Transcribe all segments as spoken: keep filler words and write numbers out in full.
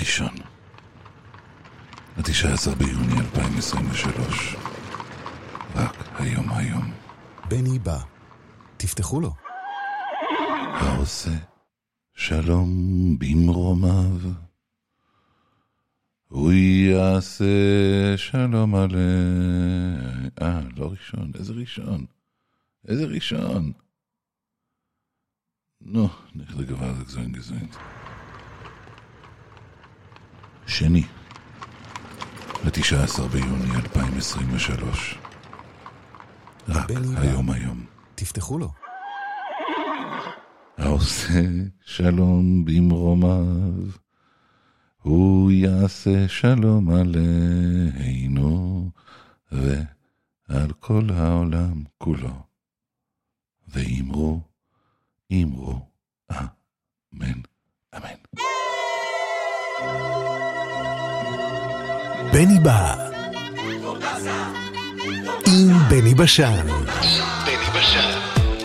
ראשון, ה-תשעה עשר ביוני אלפיים עשרים ושלוש. רק היום היום. בני בא, תפתחו לו. העושה שלום במרומיו, הוא יעשה שלום עלי. אה, לא ראשון, איזה ראשון? איזה ראשון? נו, נלך לגבר לגזוין גזוין. שני, ה-תשעה עשר ביוני אלפיים עשרים ושלוש. רק היום היום. תפתחו לו. העושה שלום במרומיו, הוא יעשה שלום עלינו ועל כל העולם כולו. ואמרו, אמרו, אמן, אמן. בני בא עם בני בשן. בני בשן.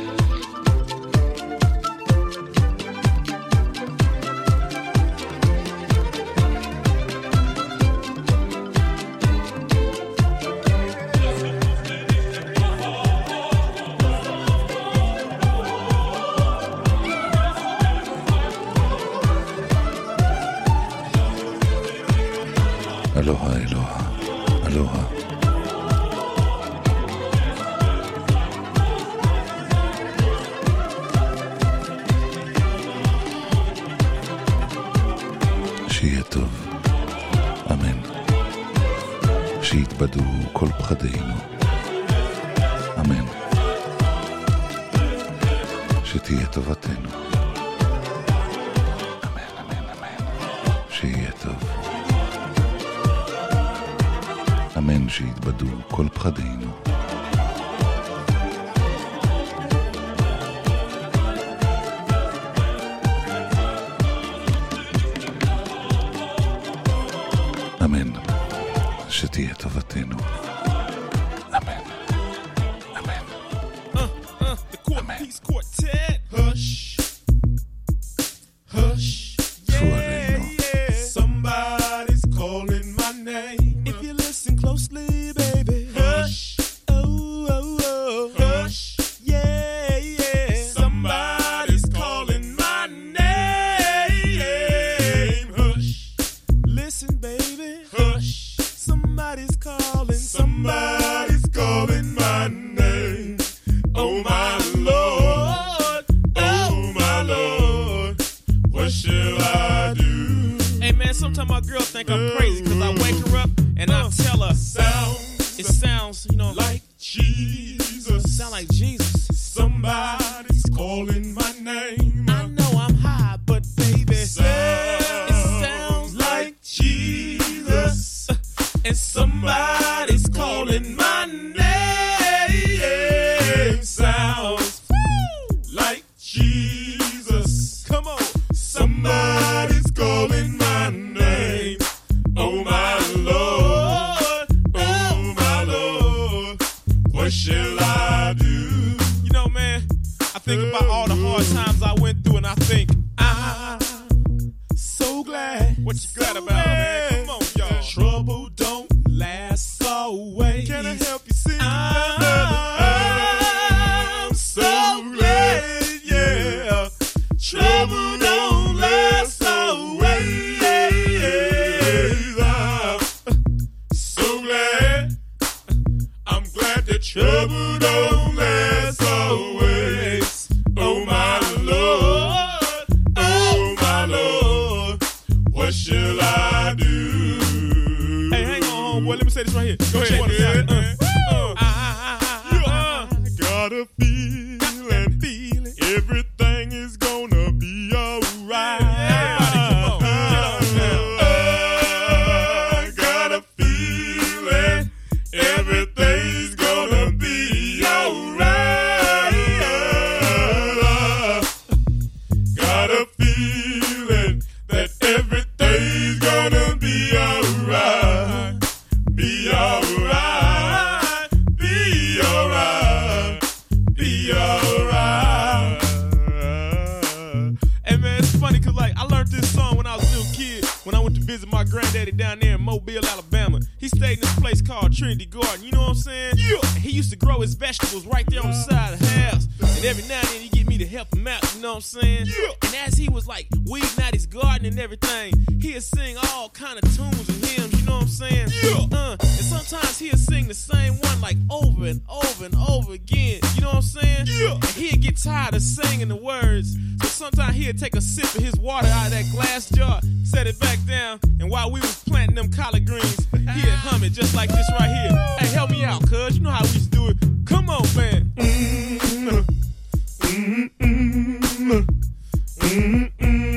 אלוהה, אלוהה, אלוהה. שיהיה טוב, אמן. שיתבדו כל פחדינו, אמן. שתהיה טובתנו, אמן, אמן, אמן. שיהיה טוב, אמן. שיתבדו כל פחדינו, אמן. שתהיה טובתנו, אמן, אמן, אמן. צפו עלינו. Somebody's calling my name. If you listen closely, baby. Hush. Oh, oh, oh. Hush. Yeah, yeah. Somebody's calling my name. Hush. Listen, baby. Hush. Somebody's calling. Somebody's calling my name. Oh, my Lord. Oh, my Lord. What shall I do? Hey man, sometimes my girl think I'm crazy because I wake her up and I tell her Sounds it sounds, you know, like Jesus. sound like Jesus. Somebody's calling my name. I know I'm high, but baby, Sounds it sounds like Jesus. and Somebody's calling my name. Sounds like Jesus. come on. Somebody's calling my name. Oh my Lord, oh my Lord, what shall I do? You know, man, I think about all the hard times I went through, and I think I'm so glad. what you glad so about, man? glad. Come on, y'all. Trouble don't last always. Can I help you see? I'm so glad, yeah. Trouble don't last always. I'm so glad. I'm glad that trouble don't last always. Oh my Lord, oh my Lord, what shall I do? Hey, hang on, homeboy. Let me say this right here. Go ahead. Yeah, What is that? yeah. Uh, uh, uh, I got a feeling, feeling everything is gonna be alright. Everybody, come on, get on now. I got a feeling everything's gonna be alright. Got a feeling that everything's gonna be alright. Be alright. I was a little kid, when I went to visit my granddaddy down there in Mobile, Alabama. He stayed in this place called Trinity Garden, you know what I'm saying? Yeah. And he used to grow his vegetables right there on the side of the house. And every now and then he'd get me to help him out, you know what I'm saying? Yeah. And as he was like weeding out his garden and everything, he'd sing all kind of tunes and hymns, you know what I'm saying? Yeah. Uh, and sometimes he'd sing the same one like over and over and over again, you know what I'm saying? Yeah. And he'd get tired of singing the words, so sometimes he'd take a sip of his water out of that glass jar, set it back down, and while we was planting them collard greens, he'd hum it just like this right here. Hey, help me out, cuz, you know how we used to do it. Come on, man. Mm-hmm. Mm-hmm. Mm-hmm. Mm-hmm.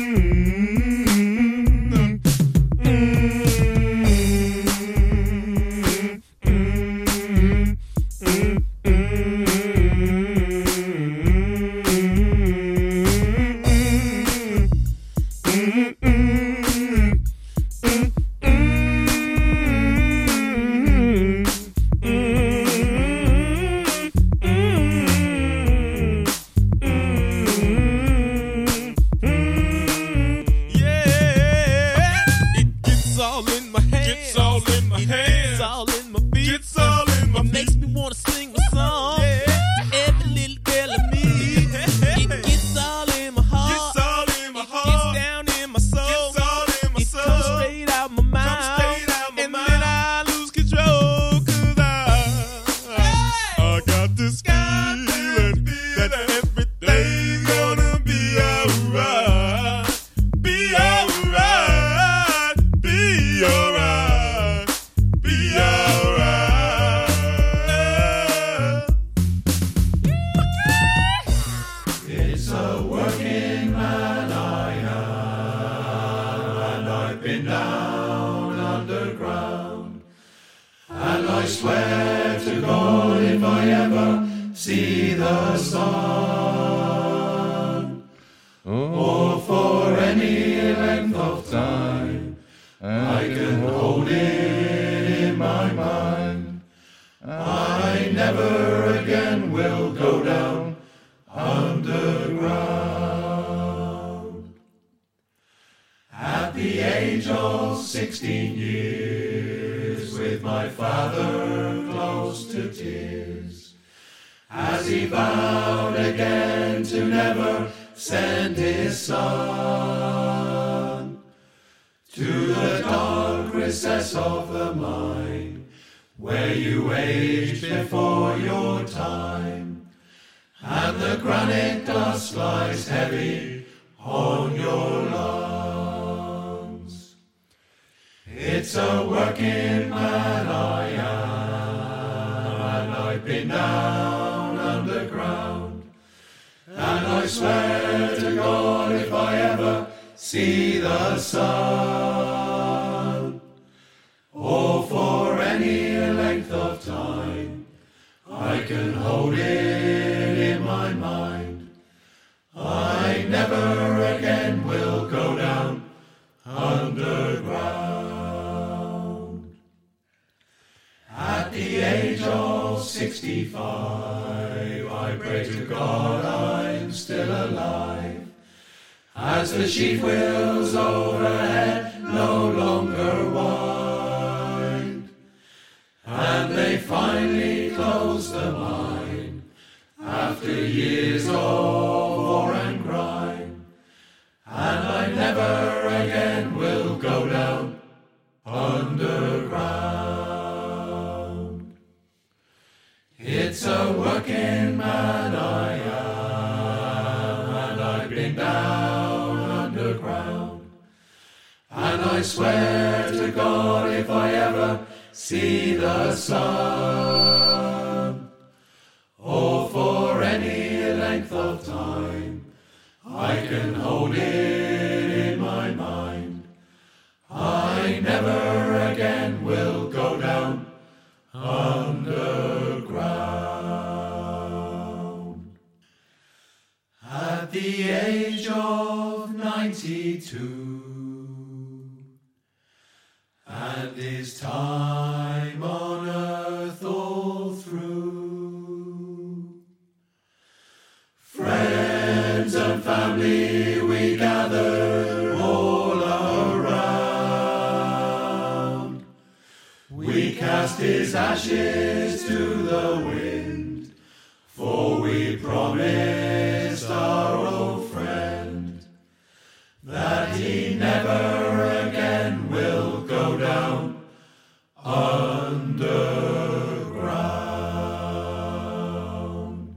And his time on earth all through. Friends and family we gather, all his ashes to the wind, for we promised our old friend that he never again will go down underground.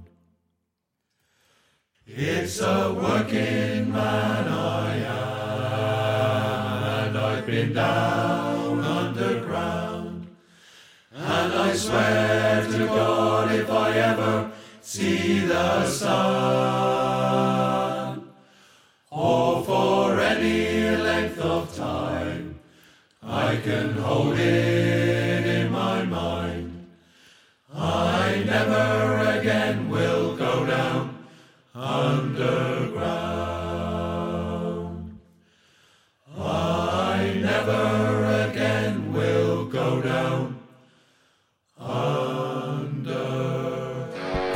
It's a working man I am, and I've been down underground, and I swear to God if I ever see the sun, or for any length of time, I can hold it in my mind, I never again will go down underground. I never again will go down underground.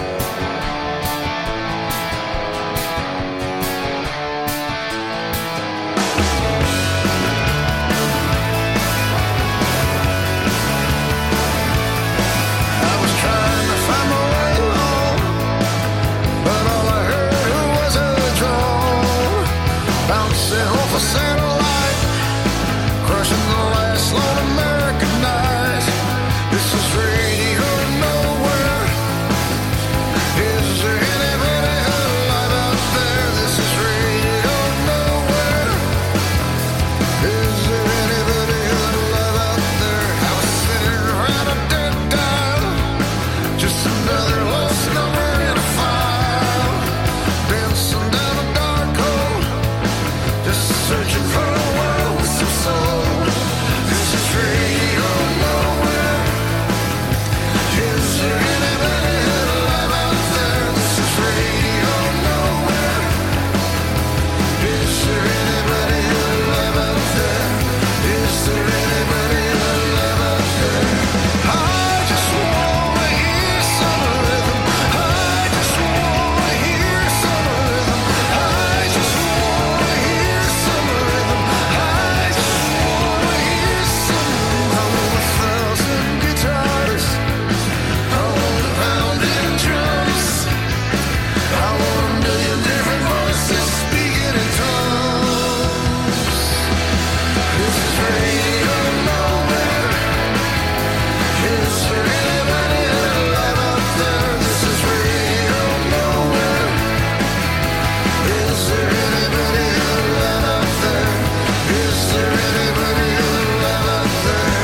I was trying to find my way home, but all I heard was a drone bouncing off a satellite, crushing the last lone American night. This is radio nowhere. Is there anybody alive out there? This is radio nowhere. Is there anybody alive out there? I was sitting around a dead dial, just another lost number in a file, dancing down a dark hole, just searching for a world with some soul. This is radio nowhere. Is there anybody alive out there? This is radio nowhere. Is there anybody alive out there? Is there anybody alive out there? I just wanna hear some rhythm. I just wanna hear some rhythm. I just wanna hear some rhythm. I just wanna hear some rhythm. I want a thousand guitars. I want a pounding drums. I want a million different voices speaking in tongues. This is radio nowhere. Is there anybody alive out there? This is radio nowhere. Is there anybody alive out there? Is there anybody alive out there?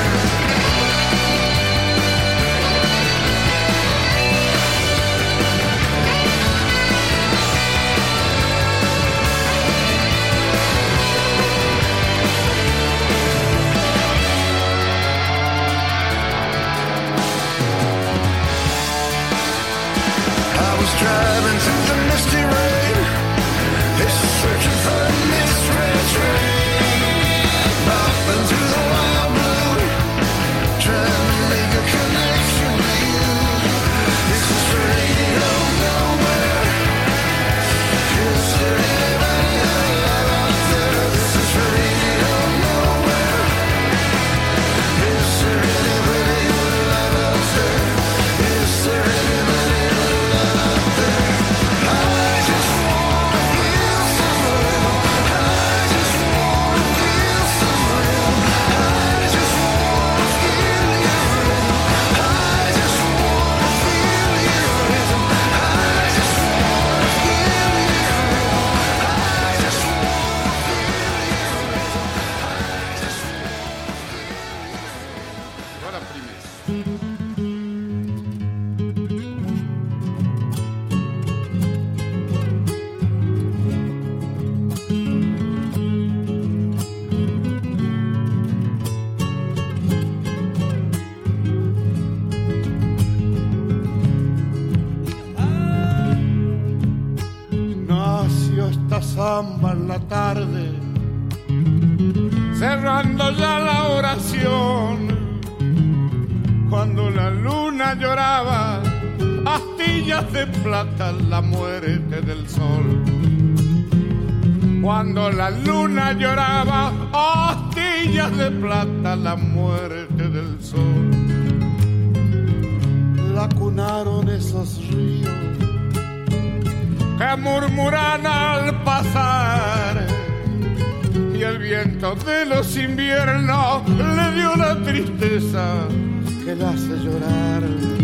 I was driving through the misty rain, it's searching for a misread train, bopping through the wild blue, trying to make a connection with you. This is radio nowhere. Is there anybody alive out there? This is radio nowhere. Is there anybody alive out there? Is there anybody alive out there? I just wanna feel some rhythm. I just wanna feel some rhythm. I just wanna feel your rhythm. I just wanna feel your rhythm. I just wanna feel your rhythm. I just wanna feel your rhythm. Agora primeiro. Nació esta samba en la tarde, cerrando ya la oración, cuando la luna lloraba, astillas de plata, la muerte del sol. Cuando la luna lloraba, astillas de plata, la muerte del sol. vacunaron esos ríos que murmuran al pasar, y el viento de los inviernos le dio una tristeza que la hace llorar.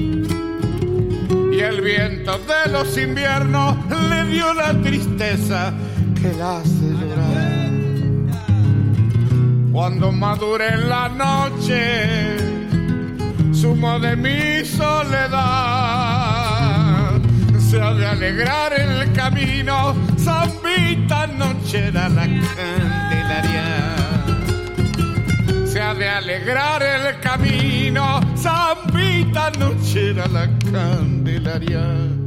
Y el viento de los inviernos le dio la tristeza que la hace llorar. Cuando madure en la noche, sumo de mi soledad, se ha de alegrar el camino, zambita nochera la Candelaria. Se ha de alegrar el camino, zambita nochera la Candelaria.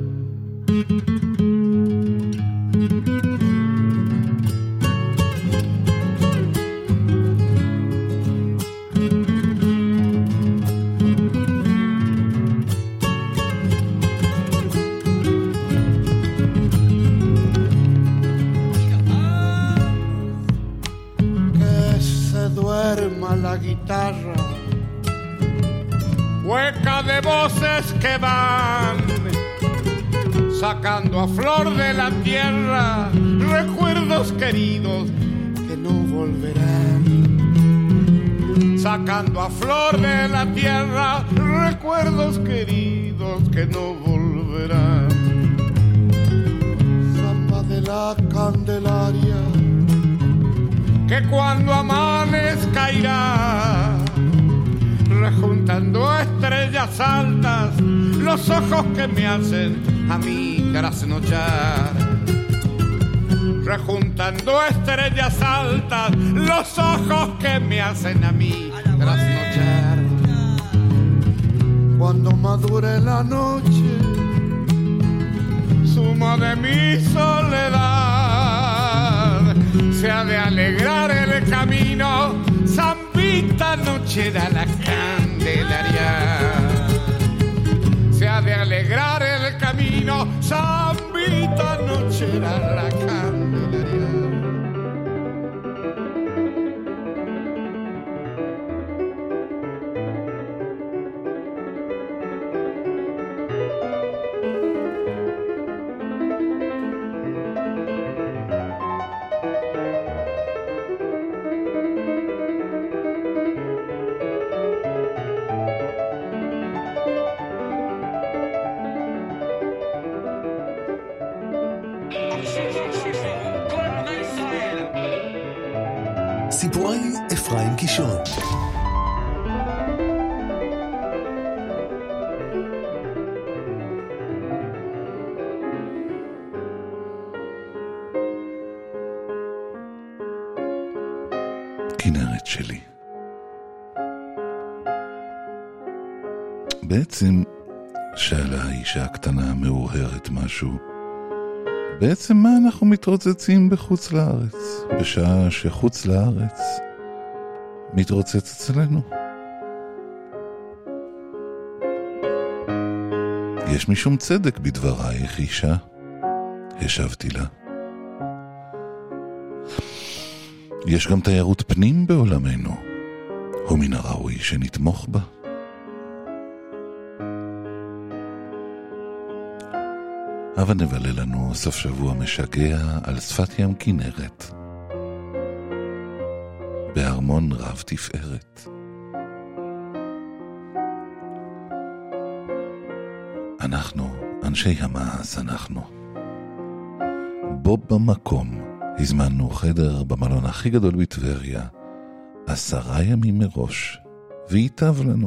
La guitarra hueca de voces que van sacando a flor de la tierra recuerdos queridos que no volverán, sacando a flor de la tierra recuerdos queridos que no volverán. Samba de la Candelaria que cuando amanezca irá rejuntando estrellas altas los ojos que me hacen a mí trasnochar, rejuntando estrellas altas los ojos que me hacen a mí trasnochar. Cuando madure la noche, sumo de mi soledad, se ha de alegrar el camino, zambita nochera la Candelaria. Se ha de alegrar el camino, zambita nochera la Candelaria. סיפורי אפרים קישון. כנרת שלי. בעצם שאלה האישה הקטנה המאוהרת משהו, בעצם מה אנחנו מתרוצצים בחוץ לארץ, בשעה שחוץ לארץ מתרוצץ אצלנו? יש משום צדק בדברייך אישה, השבתי לה. יש גם תיירות פנים בעולמנו, ומן הראוי שנתמוך בה. אבל נבלה לנו סוף שבוע משגע על שפת ים כנרת, בארמון רב תפארת. אנחנו, אנשי המעש אנחנו. בו במקום הזמנו חדר במלון הכי גדול בטבריה, עשרה ימים מראש, והיטב לנו.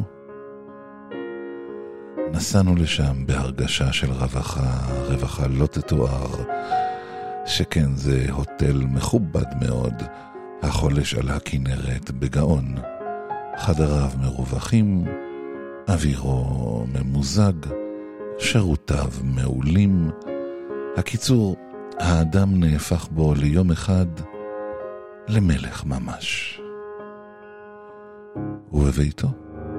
נסענו לשם בהרגשה של רווחה, רווחה לא תתואר, שכן זה הוטל מכובד מאוד, החולש על הכנרת בגאון. חדריו מרווחים, אווירו ממוזג, שירותיו מעולים. הקיצור, האדם נהפך בו ליום אחד למלך ממש. ובביתו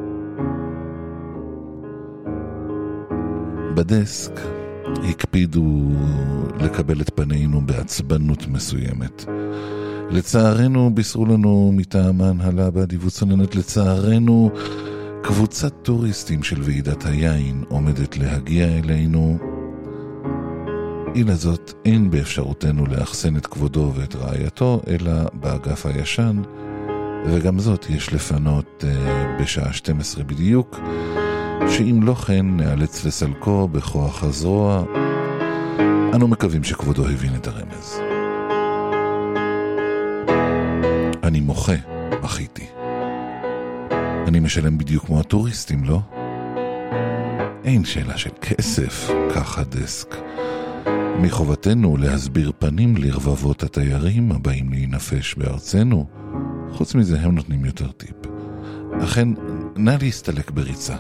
בדסק הקפידו לקבל את פנינו בעצבנות מסוימת. לצערנו בישרו לנו מטעמן הלה באדיבות צוננת, לצערנו קבוצת טוריסטים של ועידת היין עומדת להגיע אלינו. אילה זאת אין באפשרותנו לאחסן את כבודו ואת רעייתו, אלא באגף הישן, וגם זאת יש לפנות uh, בשעה שתים עשרה בדיוק, שאם לא כן נאלץ לסלקו בכוח הזרוע. אנו מקווים שכבודו הבין את הרמז. אני מוחה, מחיתי. אני משלם בדיוק כמו הטוריסטים, לא? אין שאלה של כסף, כך הדסק. מחובתנו להסביר פנים לרבבות התיירים הבאים להינפש בארצנו. חוץ מזה הם נותנים יותר טיפ. אכן, נא להסתלק בריצה.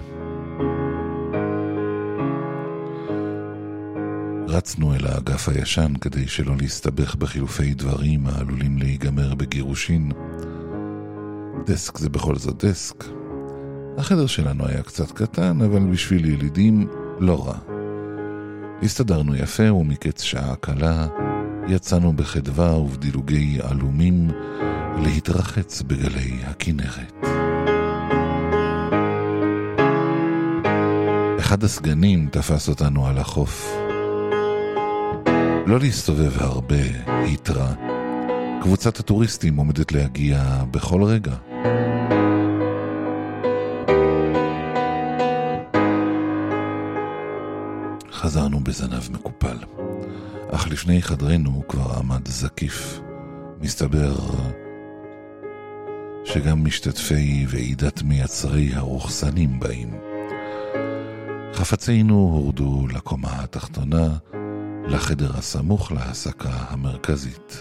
רצנו אל האגף הישן כדי שלא להסתבך בחילופי דברים העלולים להיגמר בגירושין. דסק זה בכל זאת דסק. החדר שלנו היה קצת קטן, אבל בשביל ילידים לא רע. הסתדרנו יפה, ומקץ שעה קלה יצאנו בחדווה ובדילוגי עלומים להתרחץ בגלי הכנרת. אחד הסגנים תפס אותנו על החוף. לא להסתובב הרבה, התראה. קבוצת הטוריסטים עומדת להגיע בכל רגע. חזרנו בזנב מקופל, אך לפני חדרנו כבר עמד זקיף. מסתבר שגם משתתפי ועידת מייצרי הרוחסנים באים. חפצינו הורדו לקומה התחתונה, לחדר הסמוך להסקה המרכזית.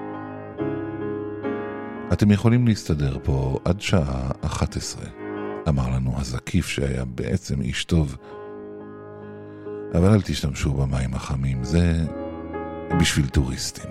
אתם יכולים להסתדר פה עד שעה אחת עשרה, אמר לנו הזקיף שהיה בעצם איש טוב. אבל אל תשתמשו במים החמים, זה בשביל טוריסטים.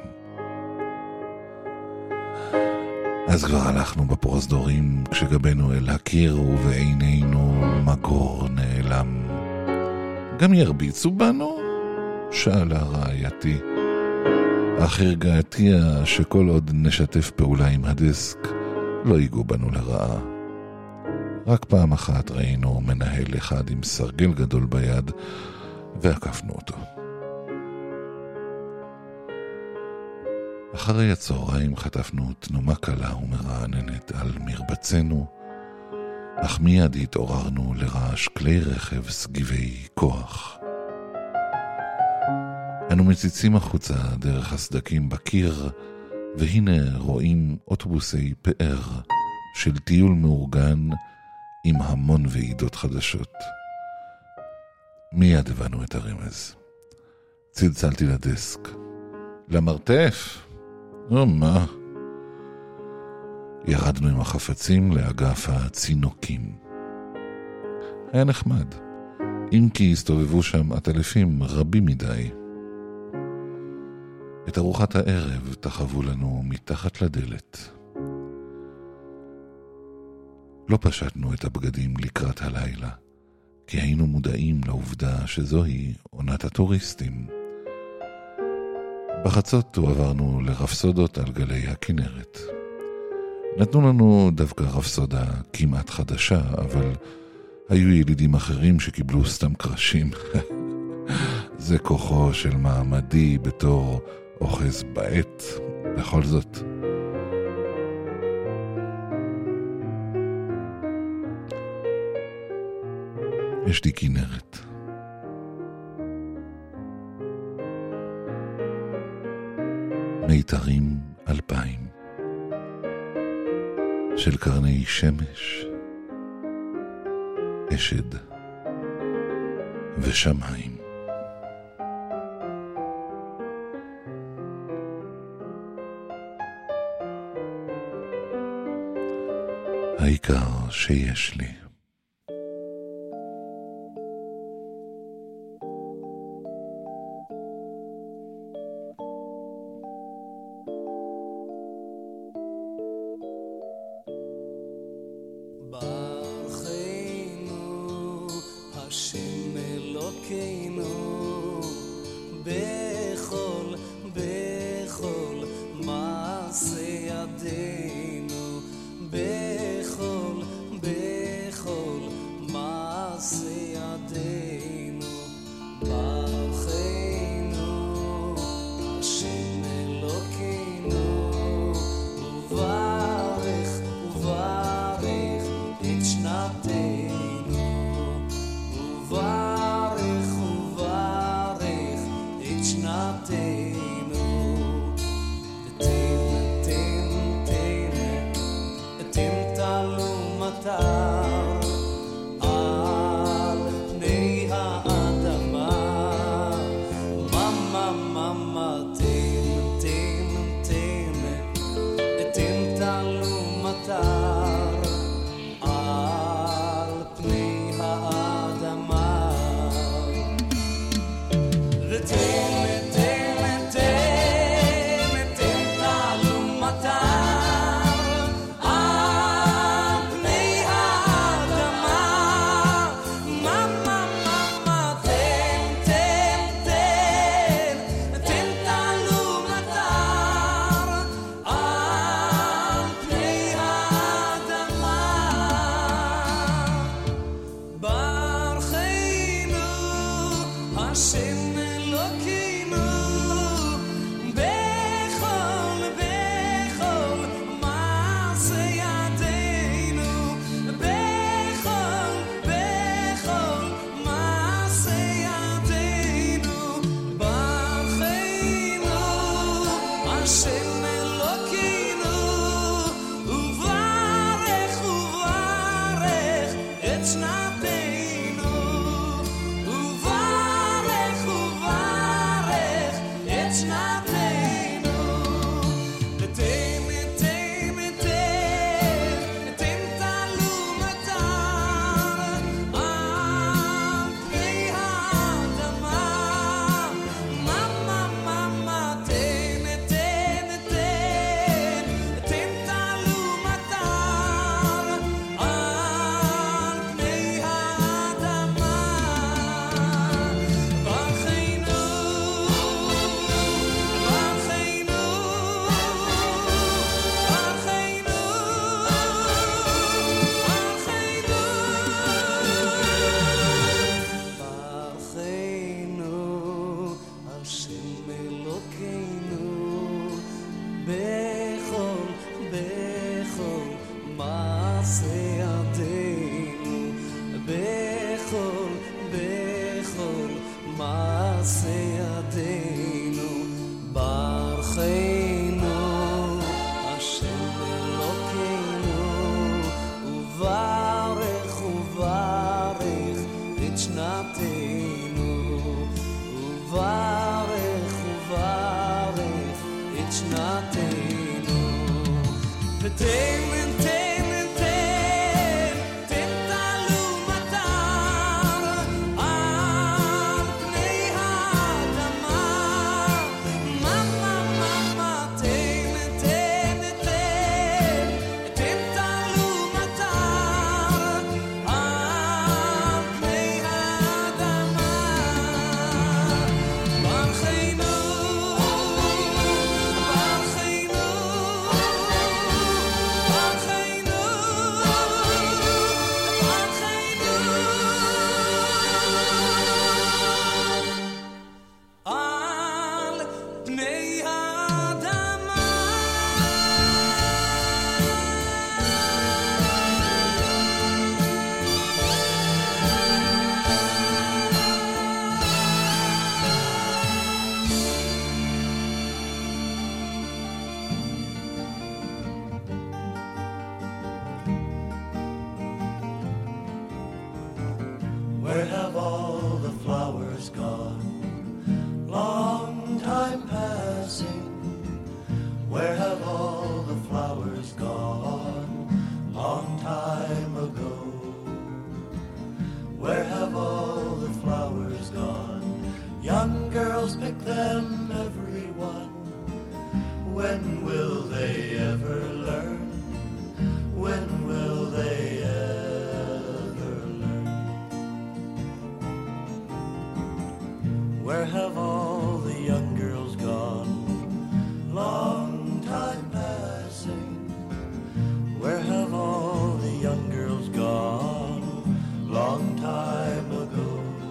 אז כבר הלכנו בפרוזדורים כשגבנו אל הקיר ובעינינו מגור נעלם. גם ירביצו בנו? שאלה רעייתי. אך הרגעתיה שכל עוד נשתף פעולה עם הדסק לא ייגעו בנו לרעה. רק פעם אחת ראינו מנהל אחד עם סרגל גדול ביד ועקפנו אותו. אחרי הצהריים חטפנו תנומה קלה ומרעננת על מרבצנו, אך מיד התעוררנו לרעש כלי רכב סגיבי כוח. אנו מציצים החוצה דרך הסדקים בקיר, והנה רואים אוטובוסי פאר של טיול מאורגן עם המון ועידות חדשות. מיד הבנו את הרמז. צלצלתי לדסק. למרתף? או מה? ירדנו עם החפצים לאגף הצינוקים. היה נחמד, אם כי הסתובבו שם עטלפים רבים מדי. את ארוחת הערב תחבו לנו מתחת לדלת. לא פשטנו את הבגדים לקראת הלילה, כי היינו מודעים לעובדה שזוהי עונת הטוריסטים. בחצות עברנו לרפסודות על גלי הכנרת. נתנו לנו דווקא רפסודה כמעט חדשה, אבל היו ילידים אחרים שקיבלו סתם קרשים. זה כוחו של מעמדי בתור אוחז בעת, בכל זאת. יש לי כנרת. מיתרים אלפיים של קרני שמש, אשד ושמיים. העיקר שיש לי. בכל, בכל מעשה ידינו, בכל, בכל מעשה ידינו, ברכנו השם אלוקינו, וברך וברך את שנתנו, וברך וברך את שנתנו, ותן ותן ותן תן תלו מטר על פני האדמה, מה מה מה מה תן תן תן תן תלו מטר על פני האדמה, ברכנו Where have all the flowers gone? Long time passing. Where have all the flowers gone? Long time ago. Where have all the flowers gone? Young girls pick them, everyone. When will they ever learn? When will they ever learn? Where have all the young girls gone? Long time passing. Where have all the young girls gone? Long time ago.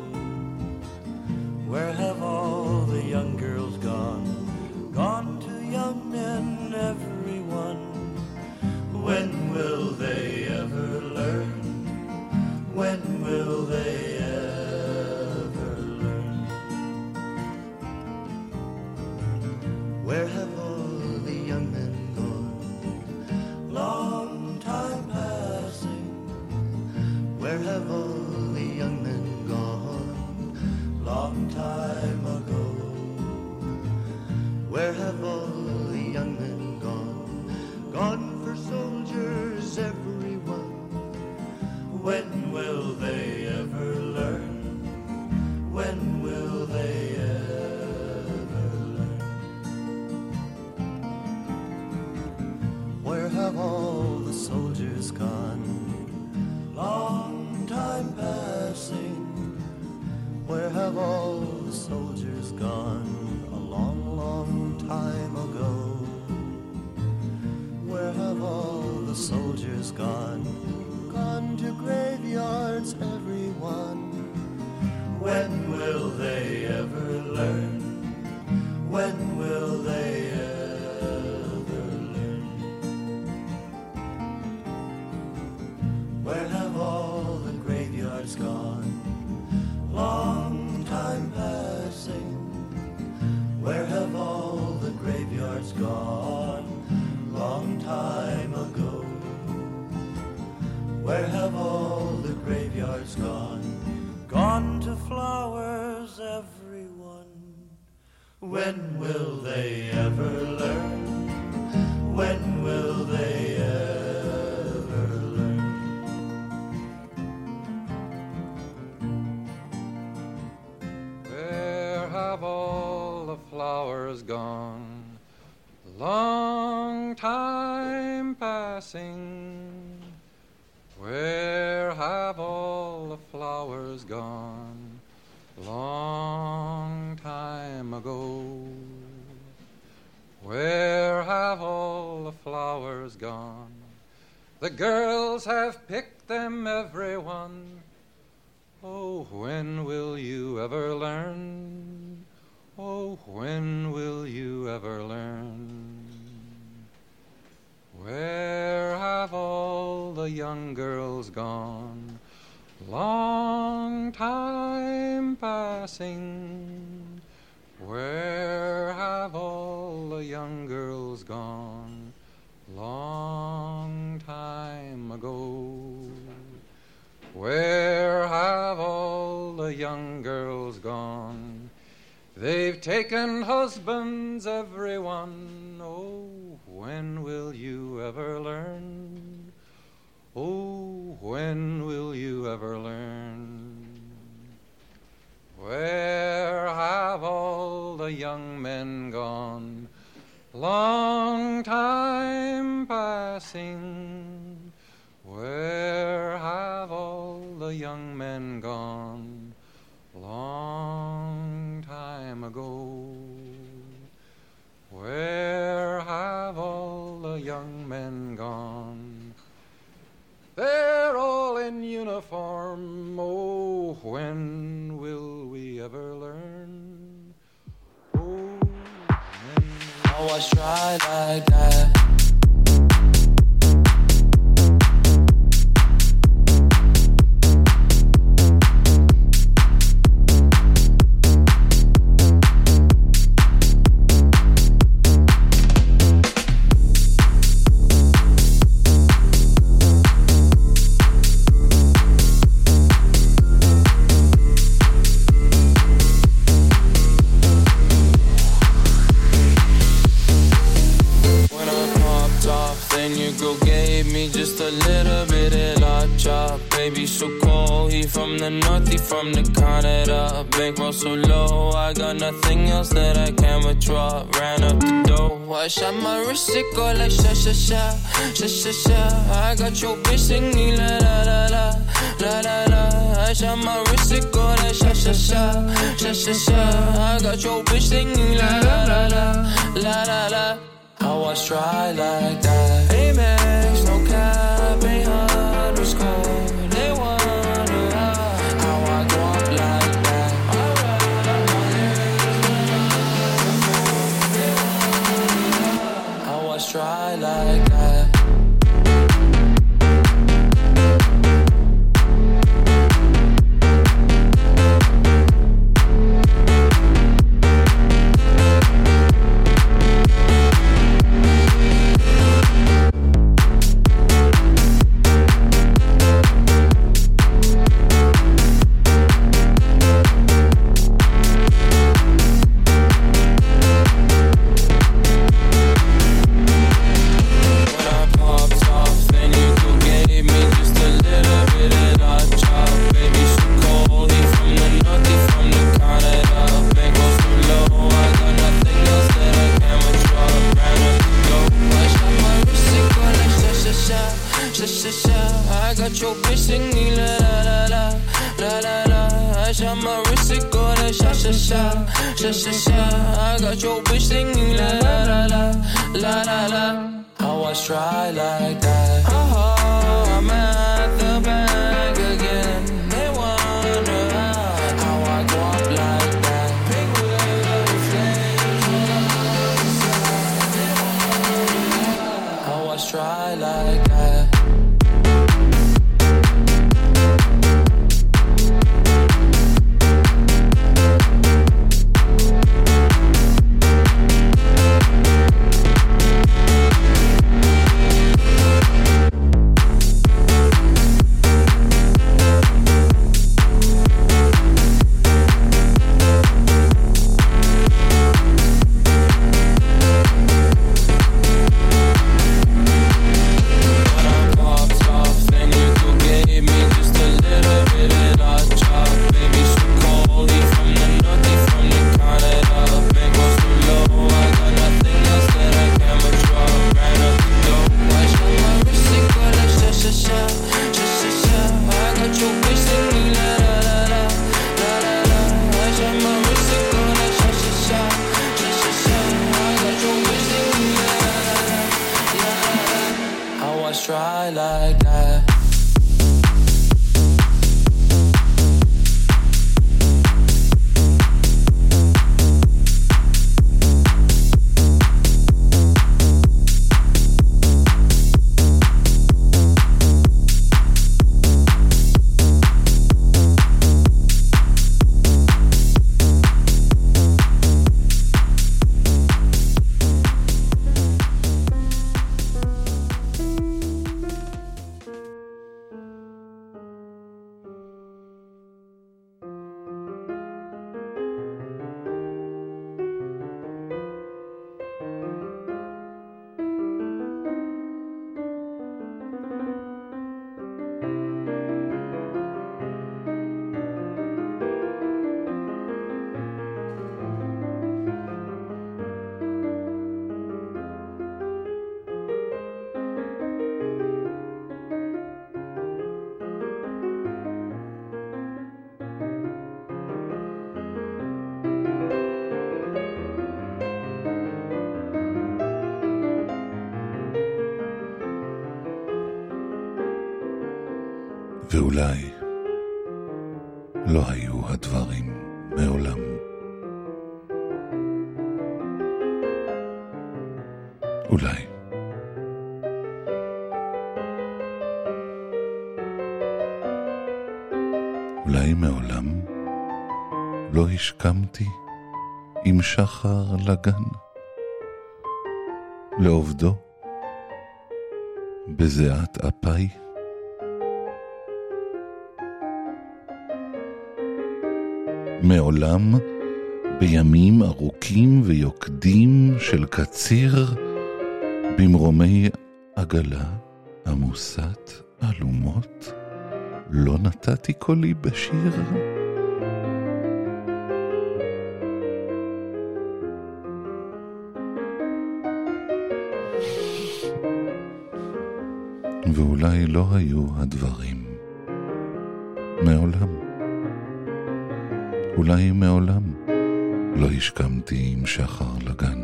Where have all the young girls gone? Gone to young men, everyone. When will they ever learn? When will they ever learn? Where have all the young men gone? Long time passing. Where have all the young men gone? Long time ago. Where have all the young men gone? Gone for soldiers, everyone. When will they ever learn? When will they ever learn? Where have all the soldiers gone? Long time passing. Where have all the soldiers gone? A long, long time ago. Where have all the soldiers gone? Gone to graveyards, everyone. When will they ever learn? When will they ever learn? Where have all the graveyards gone? Long time passing. Where have all the graveyards gone? Long time ago. Where have all the graveyards gone? Gone to flowers, everyone. When will they ever learn? When will they ever learn? Where have all the flowers gone? Long time passing. Where have all the flowers gone? Long time ago. Where have all the flowers gone? The girls have picked them, everyone. Oh, when will you ever learn? Oh, when will you ever learn? Where have all the the young girls gone? Long time passing, where have all the young girls gone? Long time ago, where have all the young girls gone? They've taken husbands, everyone. Oh, when will you ever learn? Oh, when will you ever learn? Where have all the young men gone? Long time passing, where have all the young men gone? Long time ago, where have all the young men gone? They're all in uniform. Oh, when will we ever learn? Oh, when I was dry like that. Just a little bit of love chop. Baby so cold, he from the north, he from the Canada. Bankroll so low, I got nothing else that I can withdraw. Ran up the dough, I shot my wrist, it go like sha sha sha, sha sha sha. I got your bitch singing la la la la, la la la. I shot my wrist, it go like sha sha sha, sha sha sha. I got your bitch singing la la la la, la la la. I was dry like that. Amex, no cap, ain't underscore. They wonder how I go up like that. I was dry like that. I got your bitch singing la la la, la la la. I was dry like that. Oh, I'm at the bank again. They wonder how I go up like that. Big wheel flames. I was dry like that. Try like that. ואולי לא היו הדברים מעולם. אולי. אולי מעולם לא השכמתי עם שחר לגן, לעובדו בזיעת אפי. מעולם בימים ארוכים ויוקדים של קציר, במרומי עגלה עמוסת אלומות, לא נתתי קולי בשיר. ואולי לא היו הדברים מעולם. אולי מעולם לא השכמתי עם שחר לגן,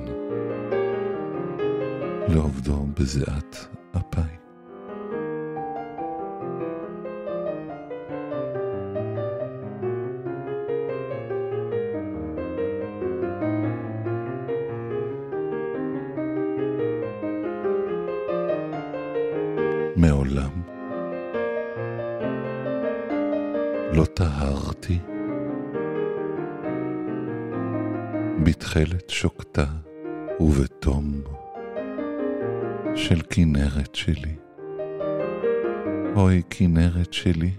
לעובדו בזיעת אפי. מעולם לא טהרתי בתחילת שוקתה ובתום של כנרת שלי. אוי כנרת שלי,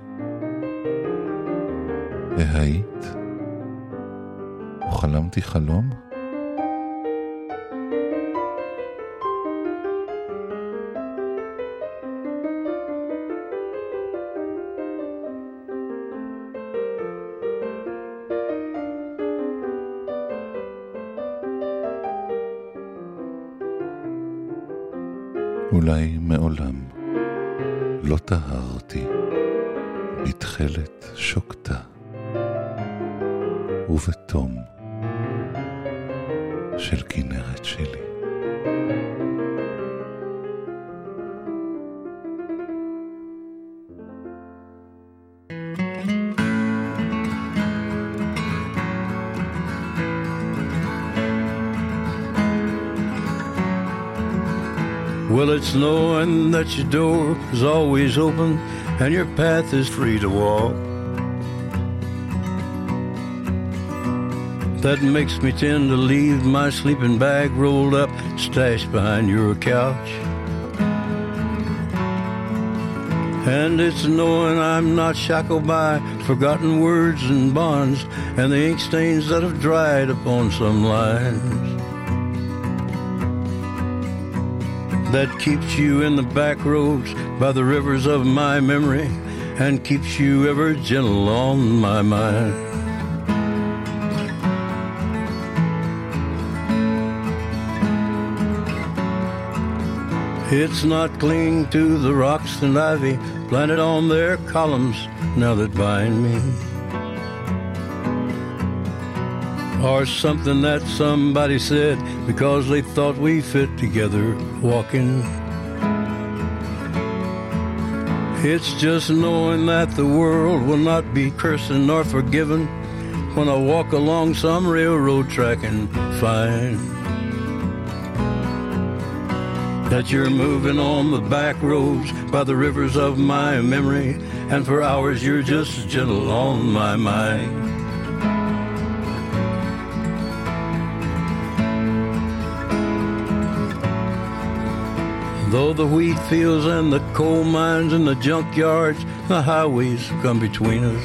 והיית וחלמתי חלום? אולי מעולם לא טהרתי בתחילת שוקתה ובתום של כנרת שלי. Well, it's knowing that your door is always open and your path is free to walk that makes me tend to leave my sleeping bag rolled up, stashed behind your couch. And it's knowing I'm not shackled by forgotten words and bonds and the ink stains that have dried upon some lines, that keeps you in the back roads by the rivers of my memory and keeps you ever gentle on my mind. It's not clinging to the rocks and ivy planted on their columns now that bind me, or something that somebody said because they thought we fit together walking. It's just knowing that the world will not be cursing nor forgiven when I walk along some railroad track and find that you're moving on the back roads by the rivers of my memory, and for hours you're just gentle on my mind. Though the wheat fields and the coal mines and the junkyards, the highways come between us,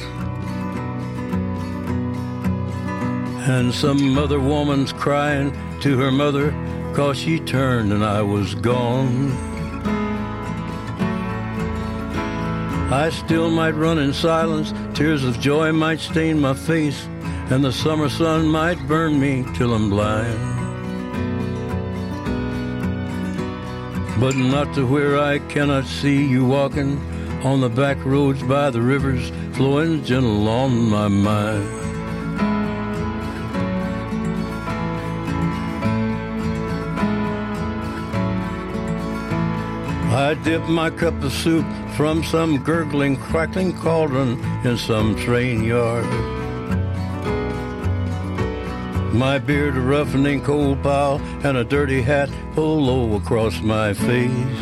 and some other woman's crying to her mother 'cause she turned and I was gone, I still might run in silence, tears of joy might stain my face, and the summer sun might burn me till I'm blind, but not to where I cannot see you walking on the back roads by the rivers flowing gentle on my mind. I dip my cup of soup from some gurgling, crackling cauldron in some train yard. My beard a roughening coal pile and a dirty hat pulled low across my face.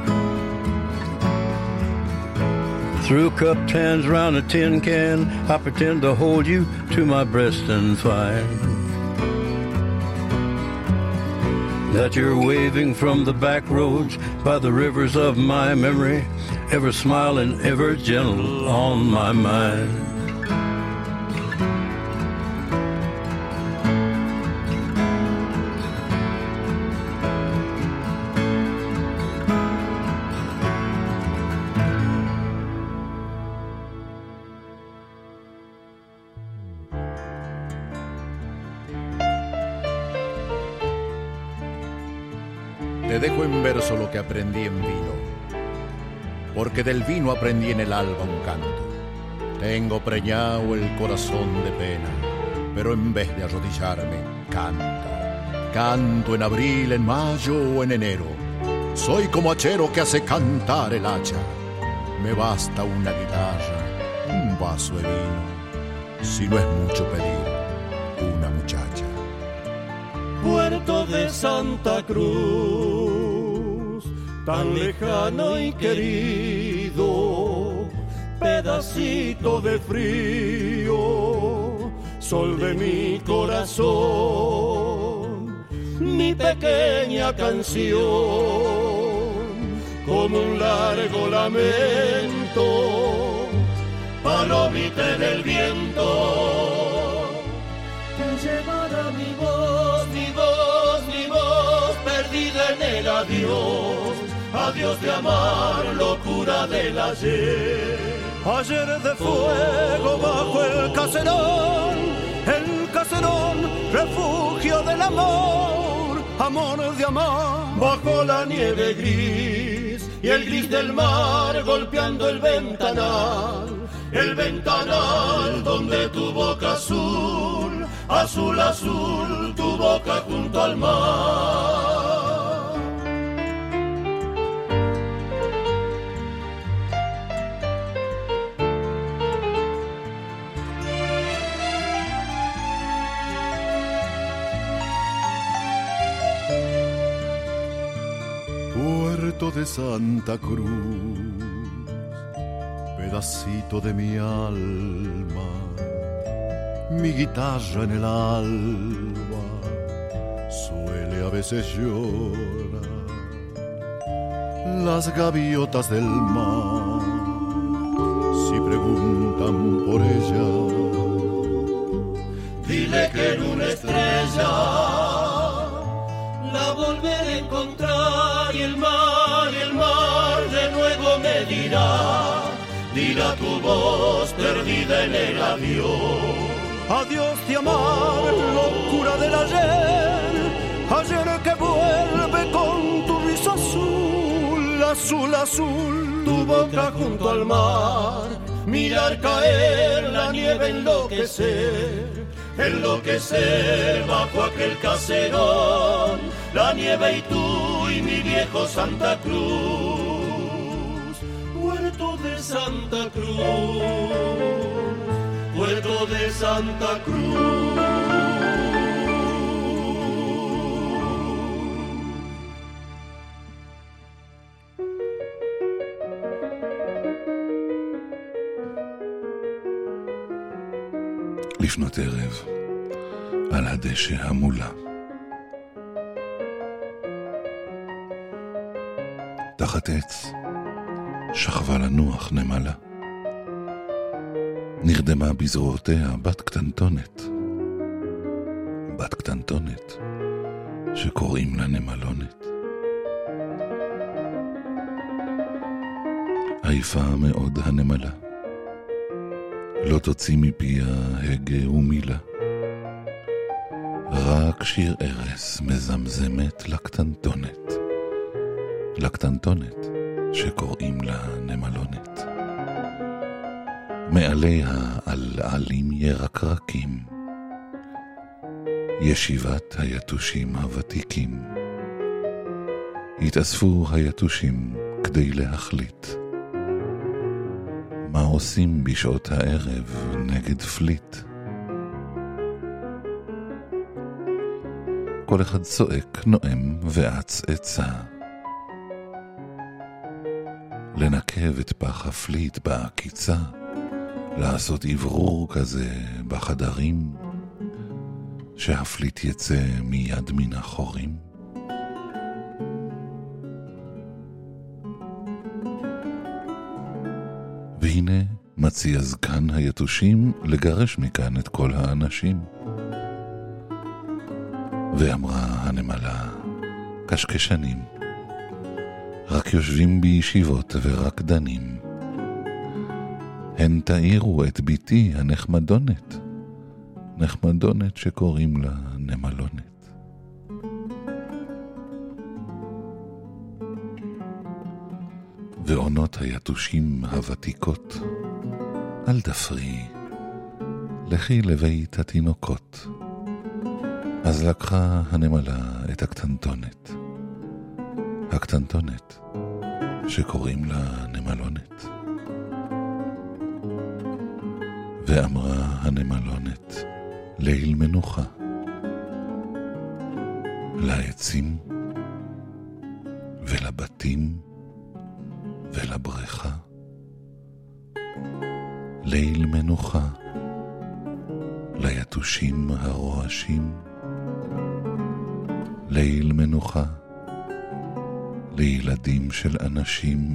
Through cupped hands round a tin can, I pretend to hold you to my breast and find that you're waving from the back roads by the rivers of my memory, ever smiling, ever gentle on my mind. Te dejo en verso lo que aprendí en vino, porque del vino aprendí en el alba un canto. Tengo preñado el corazón de pena, pero en vez de arrodillarme, canto. Canto en abril, en mayo o en enero. Soy como hachero que hace cantar el hacha. Me basta una guitarra, un vaso de vino, si no es mucho pedir, una muchacha. Puerto de Santa Cruz, tan lejano y querido, pedacito de frío, sol de mi corazón, mi pequeña canción, como un largo lamento, palomita en el viento, que llevará mi voz, mi voz, mi voz, perdida en el adiós, adiós de amar, locura del ayer. Ayer de fuego bajo el caserón, el caserón, refugio del amor, amor de amar. Bajo la nieve gris y el gris del mar golpeando el ventanal, el ventanal donde tu boca azul, azul, azul, tu boca junto al mar. Puerto de Santa Cruz, pedacito de mi alma, mi guitarra en el alba, suele a veces llorar. Las gaviotas del mar, si preguntan por ella, dile que en una estrella la volveré a encontrar, y el mar, y el mar de nuevo me dirá, dirá tu voz perdida en el adiós. Adiós de amar, locura del ayer, ayer que vuelve con tu risa azul, azul, azul, tu boca junto al mar, mirar caer la nieve, enloquecer, enloquecer bajo aquel caserón, la nieve y tú y mi viejo Santa Cruz. Puerto de Santa Cruz, Puerto de Santa Cruz. לפנות ערב, על הדשא המולה. תחת עץ שכבה לנוח נמלה. נרדמה בזרועותיה בת קטנטונת. בת קטנטונת שקוראים לה נמלונת. עייפה מאוד הנמלה. לא תוציא מפיה הגה ומילה. רק שיר ארס מזמזמת לקטנטונת. לקטנטונת שקוראים לה נמלונת. מעליה על עלים ירקרקים. ישיבת היתושים הוותיקים. התאספו היתושים כדי להחליט מה עושים בשעות הערב נגד פליט. כל אחד צועק, נואם ועץ עצה, לנקב את פח הפליט בעקיצה, לעשות עברור כזה בחדרים, שהפליט יצא מיד מן החורים. והנה מציע זקן היתושים לגרש מכאן את כל האנשים. ואמרה הנמלה, קשקשנים, רק יושבים בישיבות ורק דנים. הן תאירו את ביתי הנחמדונת, נחמדונת שקוראים לה נמלונת. ועונות היתושים הוותיקות, אל דפרי, לכי לבית התינוקות. אז לקחה הנמלה את הקטנטונת, הקטנטונת שקוראים לה נמלונת. ואמרה הנמלונת, ליל מנוחה, לעצים ולבתים ולבריכה. ליל מנוחה, ליתושים הרועשים. ליל מנוחה, לילדים של אנשים.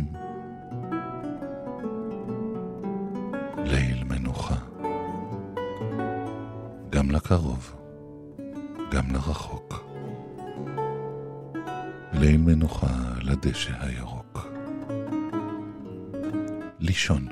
ליל מנוחה, גם לקרוב, גם לרחוק. ליל מנוחה לדשא הירוק. לישון.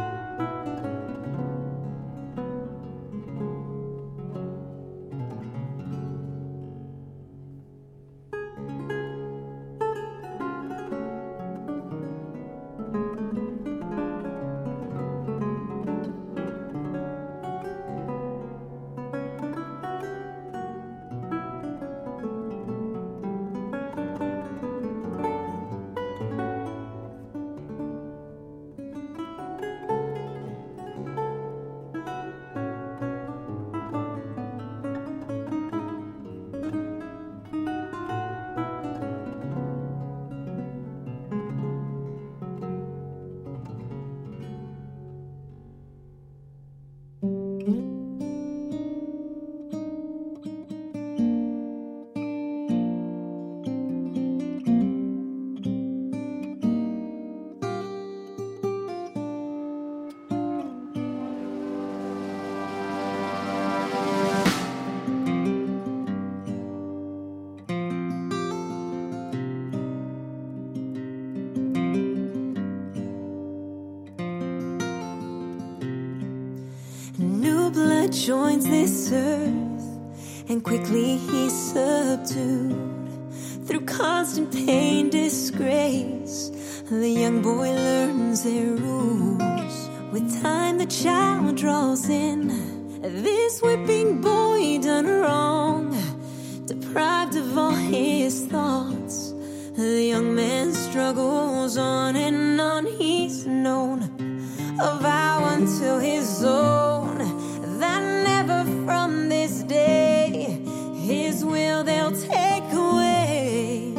Joins this earth, and quickly he's subdued. Through constant pain, disgrace, the young boy learns their rules. With time the child draws in, this whipping boy done wrong, deprived of all his thoughts. The young man struggles on and on. He's known a vow until his own, that never from this day his will they'll take away.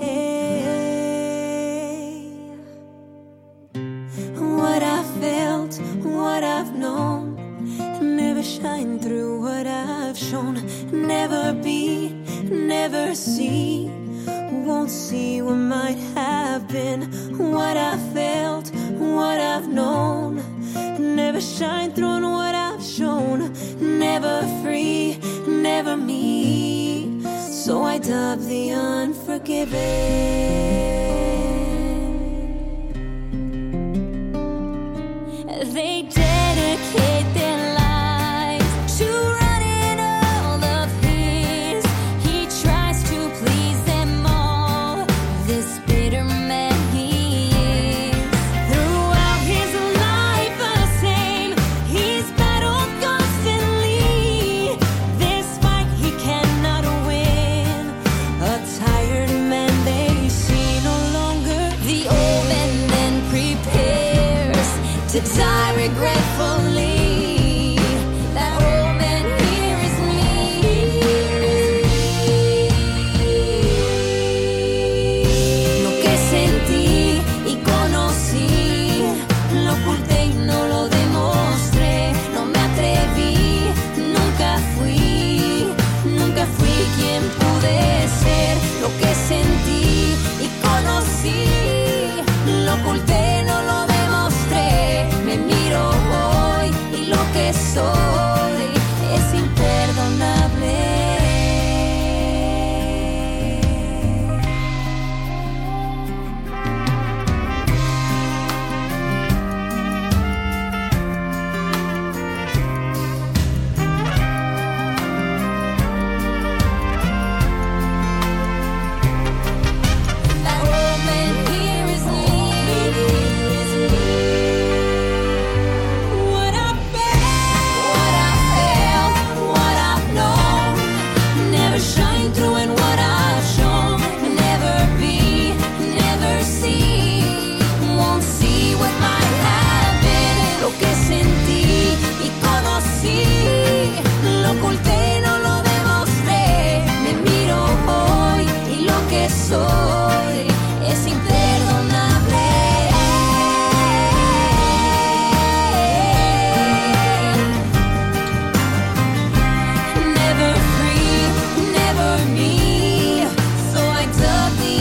What I felt, what I've known, never shine through what I've shown. Never be, never see, won't see what might have been. What I felt, what I've known, never shine through what I've shown. Never free, never me, so I dub the unforgiven. They dedicate their lives to running all of his. He tries to please them all, this bitter man he is. Throughout his life the same, he's battled constantly. This fight he cannot win. A tired man they see no to die regretfully. That old man here is me. Lo que sentí y conocí, lo oculté y no lo demostré. No me atreví, nunca fui, nunca fui quien pude ser. Lo que sentí y conocí, lo oculté, no lo demostré. Me miro hoy y lo que soy es imperdonable. That old man here is me. What I felt, what I felt, what I've known, never shine through in what I've shown. Never be, never see, won't see what might have been. Lo que sentí y conocí, lo oculté, no lo demostré. Me miro hoy y lo que soy es imperdonable. Never free, never me, so I took the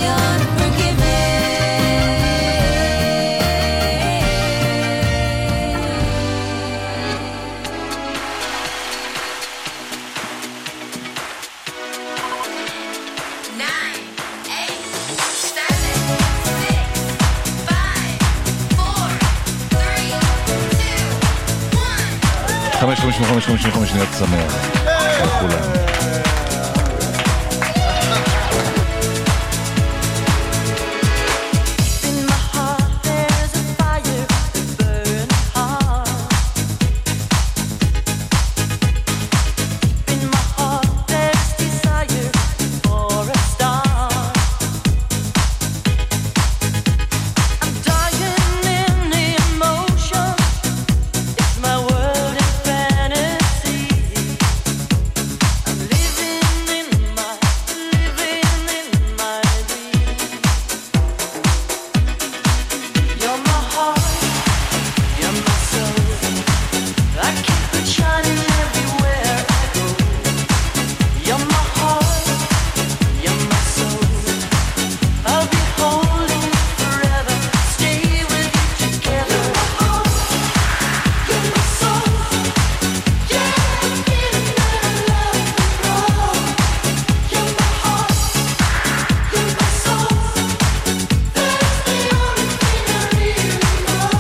Nine, eight, seven, six, five, four, three, two, one. חמש חמש חמש חמש חמש שניות שמח לכולם. In my heart there's a fire burning hard. In my heart there's desire for a star. I'm dying in emotion. It's my world in fantasy. I'm living in my, living in my dream. You're my heart, you're my soul. I keep it shining everywhere I go. You're my heart, you're my soul. I'll be holding you forever, stay with you together. You're my heart, you're my soul. Yeah, I'm feeling that I love you more. You're my heart, you're my soul. That's the only thing I really know.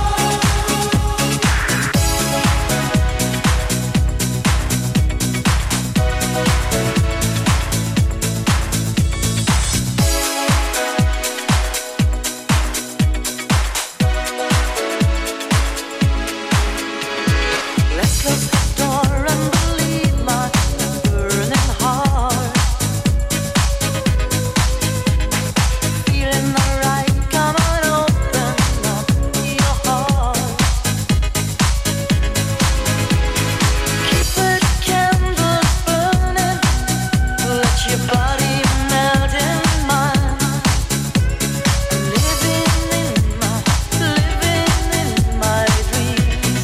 Let's close the door and believe my burning heart. Feeling alright, come on, open up your heart. Keep the candles burning, let your body melt in mine. Living in my, living in my dreams.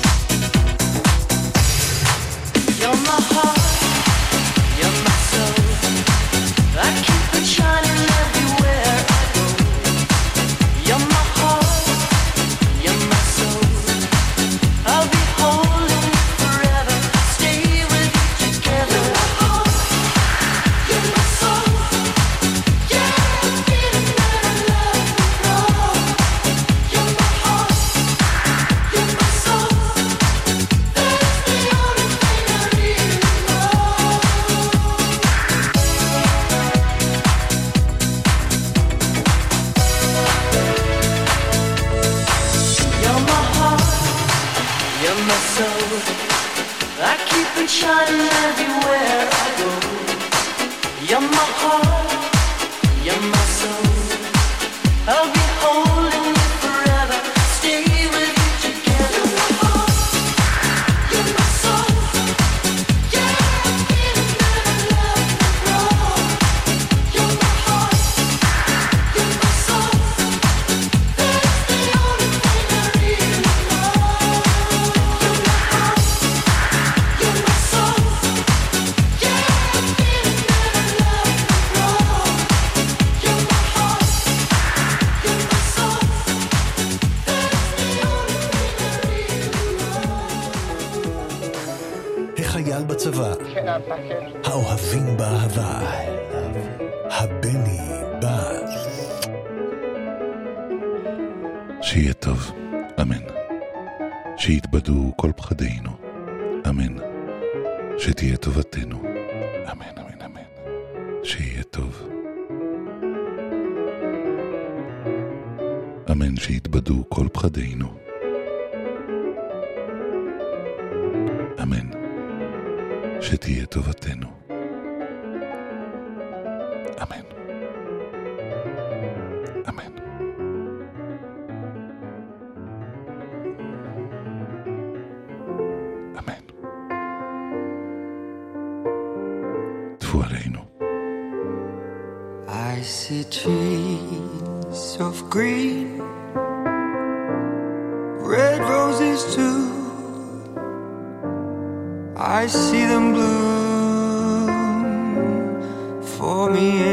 You're my heart, you're my soul. I keep it shining everywhere I go. You're my heart, you're my soul. I'll be holding you forever, stay with you together. You're my heart, you're my soul. Yeah, I'm feeling that I love you more. You're my heart, you're my soul. That's the only thing I really know. You're my heart, you're my soul. I keep it shining everywhere I go. You're my heart, you're my soul. I'll be holding you forever, stay with you together. בצבא, האוהבים באהבה, הבני בא. שיהיה טוב, אמן. שיתבדו כל פחדינו, אמן. שתהיה טובתנו, אמן, אמן, אמן. שיהיה טוב. אמן, שיתבדו כל פחדינו. אמן. שתהיה טובתנו. אמן. אמן. אמן. טפו עלינו. I see trees of green, red roses too. I see them bloom for me